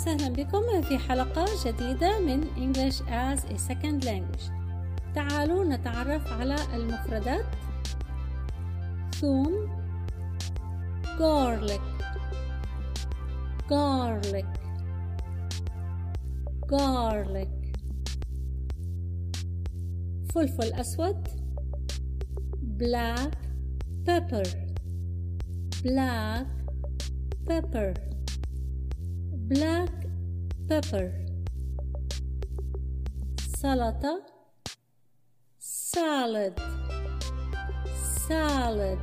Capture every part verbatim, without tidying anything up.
وسهلا بكم في حلقة جديدة من English as a Second Language. تعالوا نتعرف على المفردات. ثوم garlic garlic garlic فلفل أسود black pepper black pepper black pepper سلطة salad salad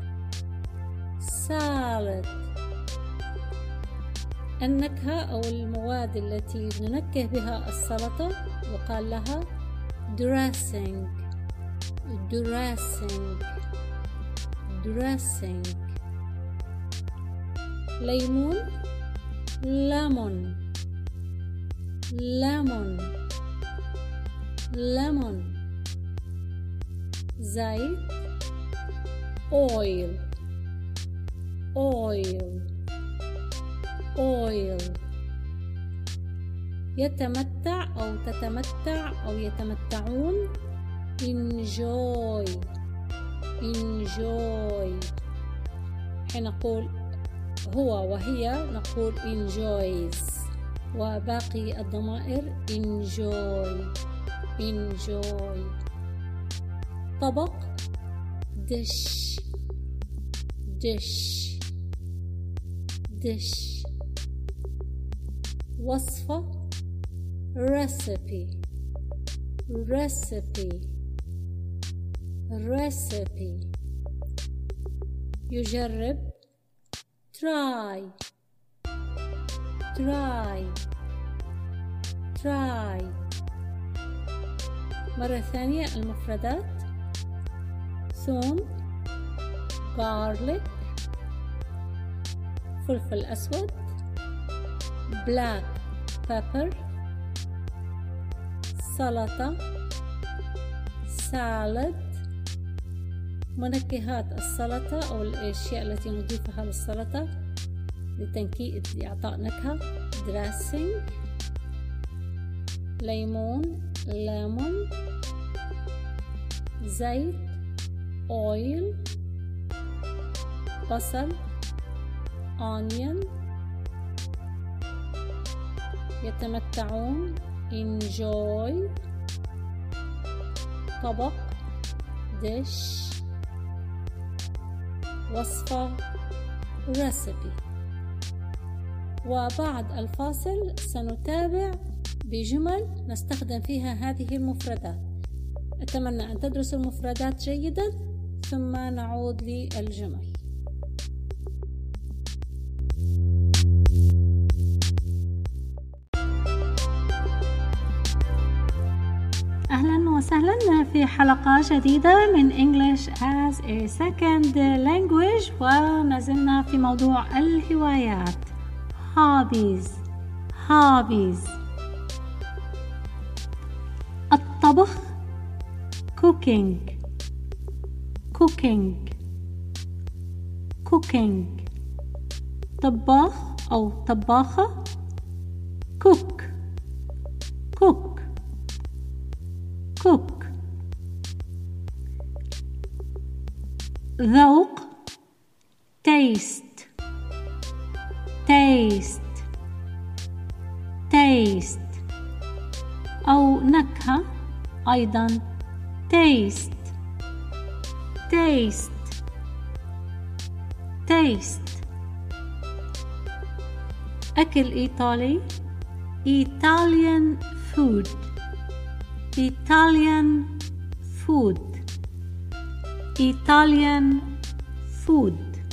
salad النكهة أو المواد التي ننكه بها السلطة يقال لها dressing dressing dressing ليمون lemon lemon lemon زيت oil oil oil يتمتع أو تتمتع أو يتمتعون enjoy enjoy حين نقول هو وهي نقول enjoys وباقي الضمائر enjoy enjoy طبق dish dish dish وصفة recipe recipe recipe يجرب try try try مرة ثانية المفردات ثوم garlic فلفل أسود black pepper سلطة salad منكهات السلطة أو الأشياء التي نضيفها للسلطة لتنكيء لإعطاء نكهة dressing ليمون lemon زيت oil بصل onion يتمتعون enjoy طبق dish وصفة recipe. وبعد الفاصل سنتابع بجمل نستخدم فيها هذه المفردات. أتمنى أن تدرسوا المفردات جيدا ثم نعود للجمل. أهلا وسهلا في حلقة جديدة من English as a Second Language، وما زلنا في موضوع الهوايات hobbies hobbies الطبخ cooking cooking cooking طباخ أو طباخة cook cook cook ذوق taste taste taste أو نكهة أيضا taste taste taste أكل إيطالي Italian food Italian food Italian food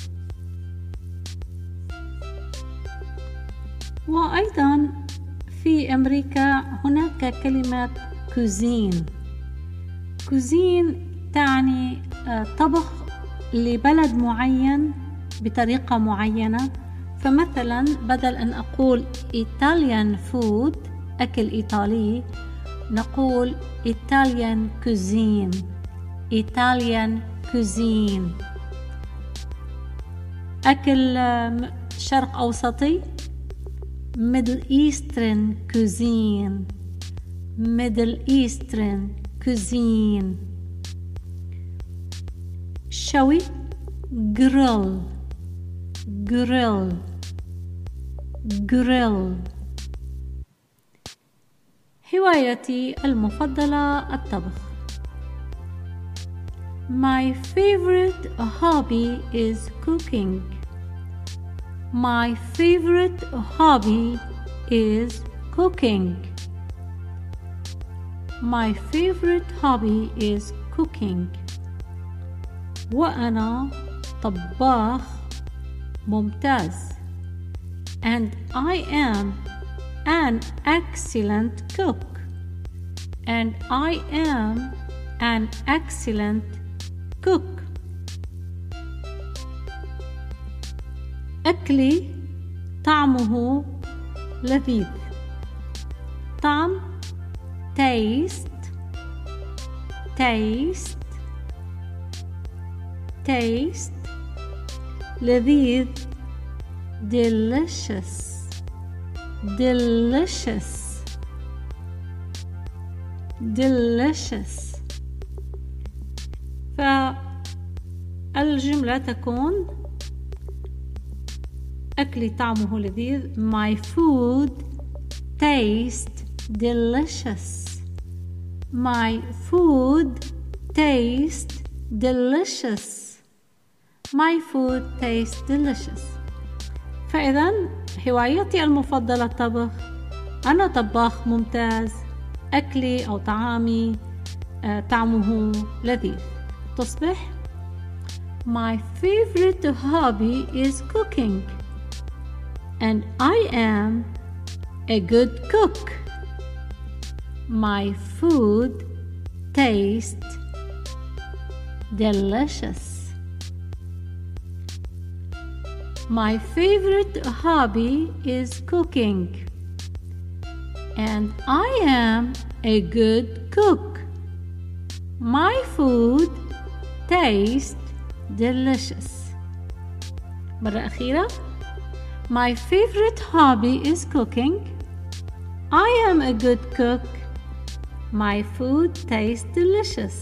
وأيضا في أمريكا هناك كلمة cuisine cuisine تعني طبخ لبلد معين بطريقة معينة. فمثلا بدل أن أقول Italian food أكل إيطالي نقول Italian cuisine Italian cuisine. أكل شرق أوسطي Middle Eastern cuisine. Middle Eastern cuisine. شوي grill. grill. grill. هوايتي المفضلة الطبخ. My favorite hobby is cooking. My favorite hobby is cooking. My favorite hobby is cooking. وأنا طباخ ممتاز. And I am an excellent cook. And I am an excellent cook. أكلي طعمه لذيذ. طعم taste. taste. taste. لذيذ delicious. delicious. delicious. فالجملة تكون أكلي طعمه لذيذ. My food tastes delicious. My food tastes delicious. My food tastes delicious. فإذا هوايتي المفضلة الطبخ. أنا طباخ ممتاز. أكلي أو طعامي طعمه لذيذ. تصبح My favorite hobby is cooking. And I am a good cook. My food tastes delicious. My favorite hobby is cooking. And I am a good cook. My food tastes delicious. مرة أخيرة. My favorite hobby is cooking. I am a good cook. My food tastes delicious.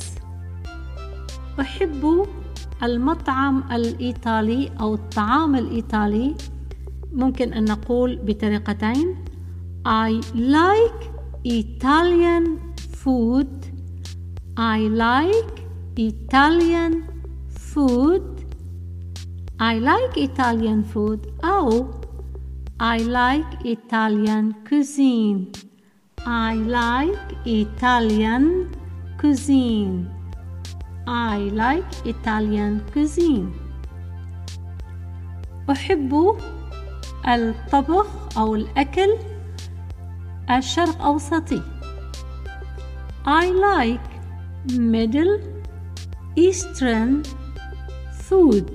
أحب المطعم الإيطالي أو الطعام الإيطالي. ممكن أن نقول بطريقتين. I like Italian food. I like Italian food. I like Italian food أو I like Italian cuisine. I like Italian cuisine. I like Italian cuisine. أحب الطبخ أو الأكل الشرق أوسطي. I like Middle Eastern food.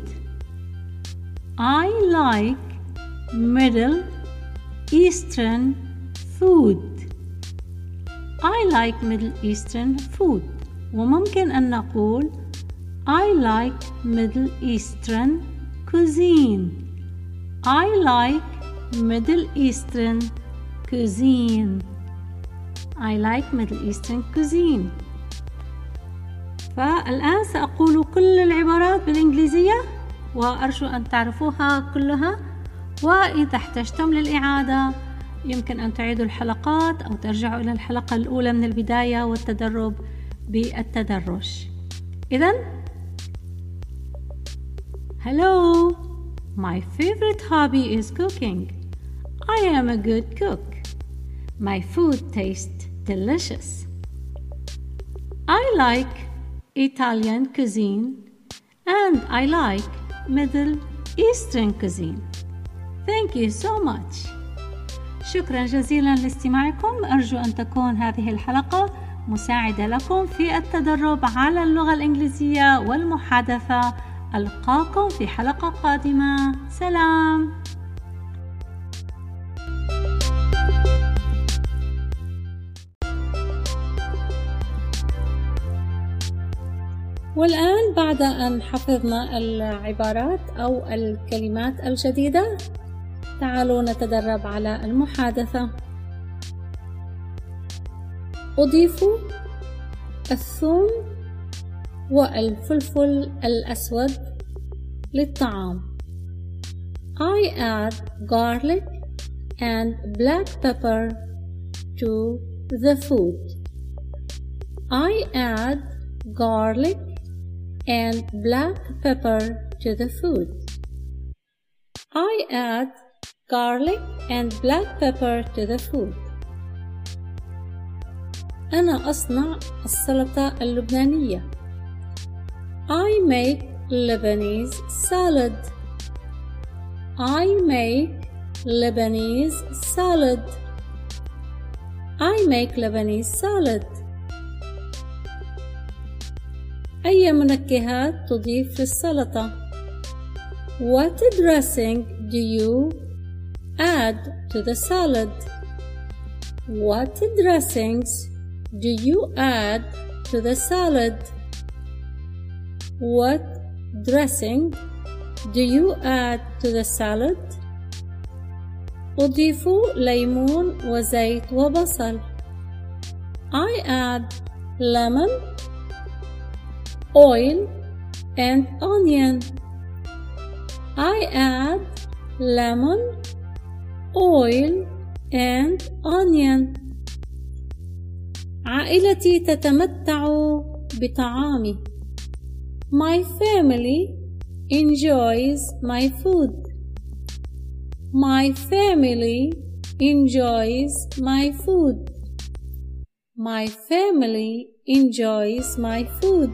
I like Middle Eastern food. I like Middle Eastern food. وممكن أن نقول I like Middle Eastern cuisine. I like Middle Eastern cuisine. I like Middle Eastern cuisine. فالآن سأقول كل العبارات بالإنجليزية وأرجو أن تعرفوها كلها. وإذا احتجتم للإعادة يمكن أن تعيدوا الحلقات أو ترجعوا إلى الحلقة الأولى من البداية والتدرب بالتدرج. إذن Hello, my favorite hobby is cooking. I am a good cook. My food tastes delicious. I like Italian cuisine and I like Middle Eastern cuisine. Thank you so much. شكرا جزيلا لاستماعكم. أرجو أن تكون هذه الحلقة مساعدة لكم في التدرب على اللغة الإنجليزية والمحادثة. ألقاكم في حلقة قادمة. سلام. والآن بعد أن حفظنا العبارات أو الكلمات الجديدة تعالوا نتدرب على المحادثة. أضيف الثوم والفلفل الأسود للطعام. I add garlic and black pepper to the food. I add garlic and black pepper to the food. I add garlic and black pepper to the food. أنا أصنع السلطة اللبنانية. I make Lebanese salad. I make Lebanese salad. I make Lebanese salad. أي منكهات تضيف للسلطة؟ What dressing do you add to the salad? What dressings do you add to the salad? What dressing do you add to the salad? أضيف ليمون وزيت وبصل. I add lemon, oil and onion. I add lemon, oil and onion. عائلتي تتمتع بطعامي. My family enjoys my food. My family enjoys my food. My family enjoys my food.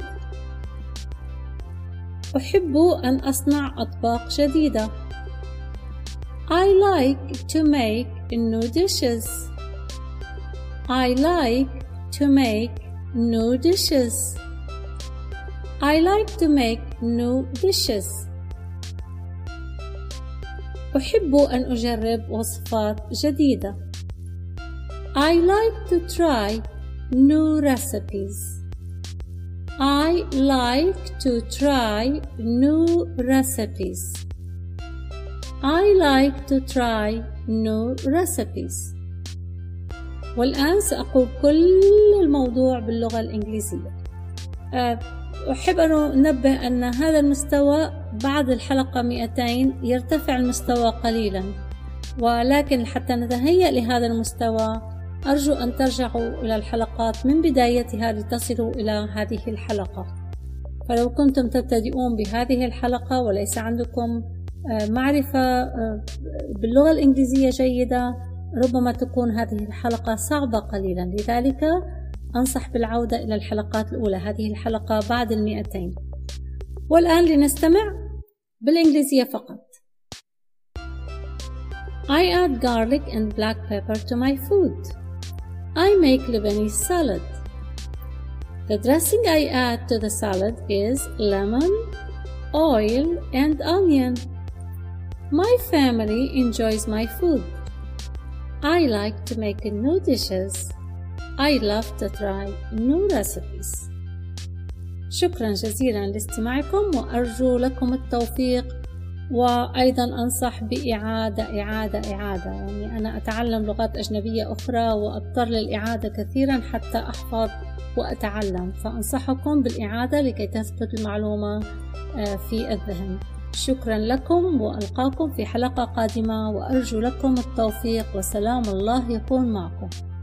أحب أن أصنع أطباق جديدة. I like to make new dishes. I like to make new dishes. I like to make new dishes. أحب أن أجرب وصفات جديدة. I like to try new recipes. I like to try new recipes. I like to try new recipes. والآن سأقول كل الموضوع باللغة الإنجليزية. أحب أن أنبه أن هذا المستوى بعد الحلقة مئتين يرتفع المستوى قليلا، ولكن حتى نتهيأ لهذا المستوى أرجو أن ترجعوا إلى الحلقات من بدايتها لتصلوا إلى هذه الحلقة. فلو كنتم تبتدئون بهذه الحلقة وليس عندكم معرفة باللغة الإنجليزية جيدة، ربما تكون هذه الحلقة صعبة قليلا، لذلك أنصح بالعودة إلى الحلقات الأولى. هذه الحلقة بعد المئتين. والآن لنستمع بالإنجليزية فقط. I add garlic and black pepper to my food. I make Lebanese salad. The dressing I add to the salad is lemon, oil and onion. My family enjoys my food. I like to make new dishes. I love to try new recipes. شكرا جزيلا لاستماعكم وأرجو لكم التوفيق، وأيضا أنصح بإعادة إعادة إعادة يعني أنا أتعلم لغات أجنبية أخرى وأضطر للإعادة كثيرا حتى أحفظ وأتعلم، فأنصحكم بالإعادة لكي تثبت المعلومة في الذهن. شكرا لكم وألقاكم في حلقة قادمة، وأرجو لكم التوفيق وسلام الله يكون معكم.